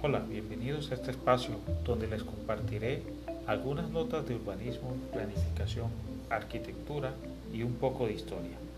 Hola, bienvenidos a este espacio donde les compartiré algunas notas de urbanismo, planificación, arquitectura y un poco de historia.